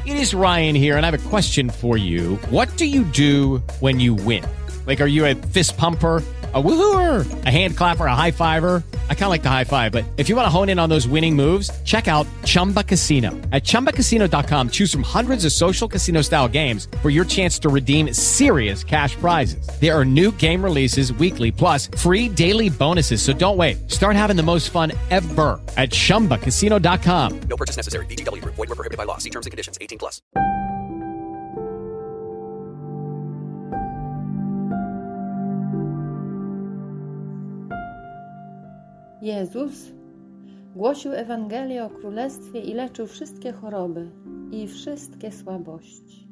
It is Ryan here, and I have a question for you. What do you do when you win? Like, are you a fist pumper, a woohooer, a hand clapper, a high fiver? I kind of like the high five, but if you want to hone in on those winning moves, check out Chumba Casino. At ChumbaCasino.com, choose from hundreds of social casino-style games for your chance to redeem serious cash prizes. There are new game releases weekly, plus free daily bonuses. So don't wait. Start having the most fun ever at ChumbaCasino.com. No purchase necessary. VGW Group. Void where prohibited by law. See terms and conditions. 18 plus. Jezus głosił Ewangelię o Królestwie i leczył wszystkie choroby i wszystkie słabości.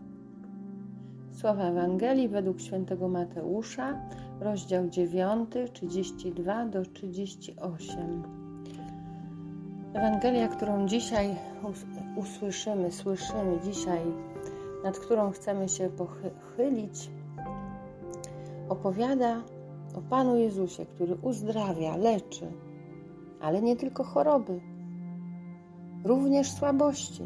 Słowa Ewangelii według świętego Mateusza, rozdział 9, 32 do 38. Ewangelia, którą dzisiaj słyszymy dzisiaj, nad którą chcemy się pochylić, opowiada o Panu Jezusie, który uzdrawia, leczy, ale nie tylko choroby, również słabości.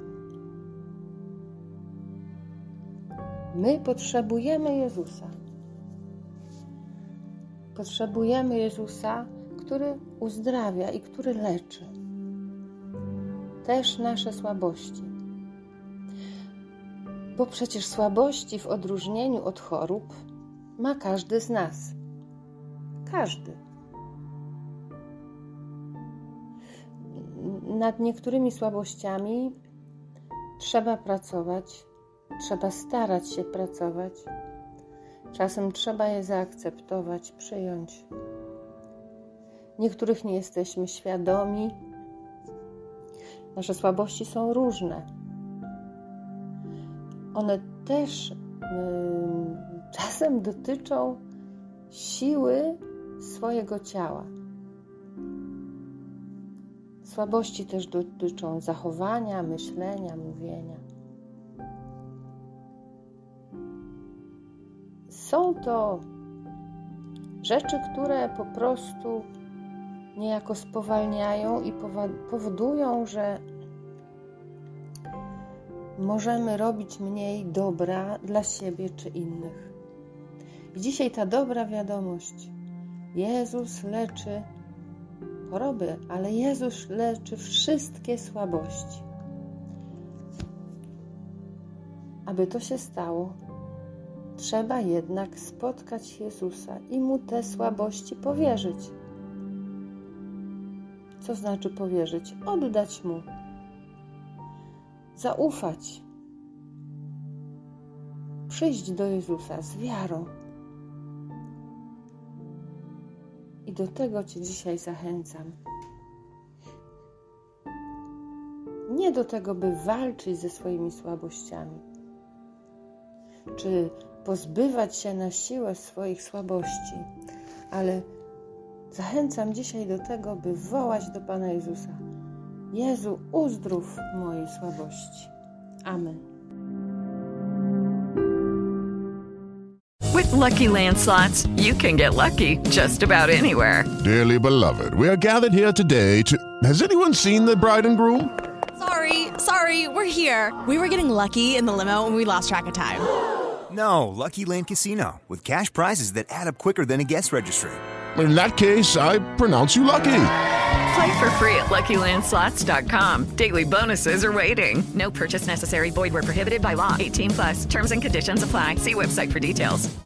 My potrzebujemy Jezusa. Potrzebujemy Jezusa, który uzdrawia i który leczy. Też nasze słabości. Bo przecież słabości w odróżnieniu od chorób ma każdy z nas. Każdy. Nad niektórymi słabościami trzeba pracować, trzeba starać się pracować. Czasem trzeba je zaakceptować, przyjąć. Niektórych nie jesteśmy świadomi. Nasze słabości są różne. One też czasem dotyczą siły swojego ciała. Słabości też dotyczą zachowania, myślenia, mówienia. Są to rzeczy, które po prostu niejako spowalniają i powodują, że możemy robić mniej dobra dla siebie czy innych. I dzisiaj ta dobra wiadomość. Jezus leczy choroby, ale Jezus leczy wszystkie słabości. Aby to się stało, trzeba jednak spotkać Jezusa i Mu te słabości powierzyć. Co znaczy powierzyć? Oddać Mu. Zaufać. Przyjść do Jezusa z wiarą. I do tego Cię dzisiaj zachęcam. Nie do tego, by walczyć ze swoimi słabościami, czy pozbywać się na siłę swoich słabości, ale zachęcam dzisiaj do tego, by wołać do Pana Jezusa: Jezu, uzdrów mojej słabości. Amen. With Lucky Land Slots, you can get lucky just about anywhere. Dearly beloved, we are gathered here today to... Has anyone seen the bride and groom? Sorry, we're here. We were getting lucky in the limo and we lost track of time. No, Lucky Land Casino, with cash prizes that add up quicker than a guest registry. In that case, I pronounce you lucky. Play for free at LuckyLandSlots.com. Daily bonuses are waiting. No purchase necessary. Void where prohibited by law. 18 plus. Terms and conditions apply. See website for details.